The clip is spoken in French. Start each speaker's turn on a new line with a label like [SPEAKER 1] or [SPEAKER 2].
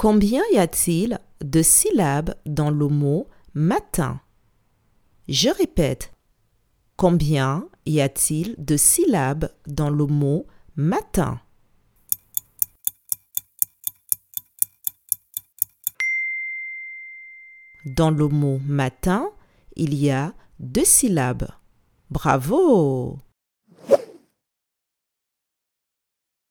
[SPEAKER 1] Combien y a-t-il de syllabes dans le mot matin? Je répète. Combien y a-t-il de syllabes dans le mot matin? Dans le mot matin, il y a 2 syllabes. Bravo!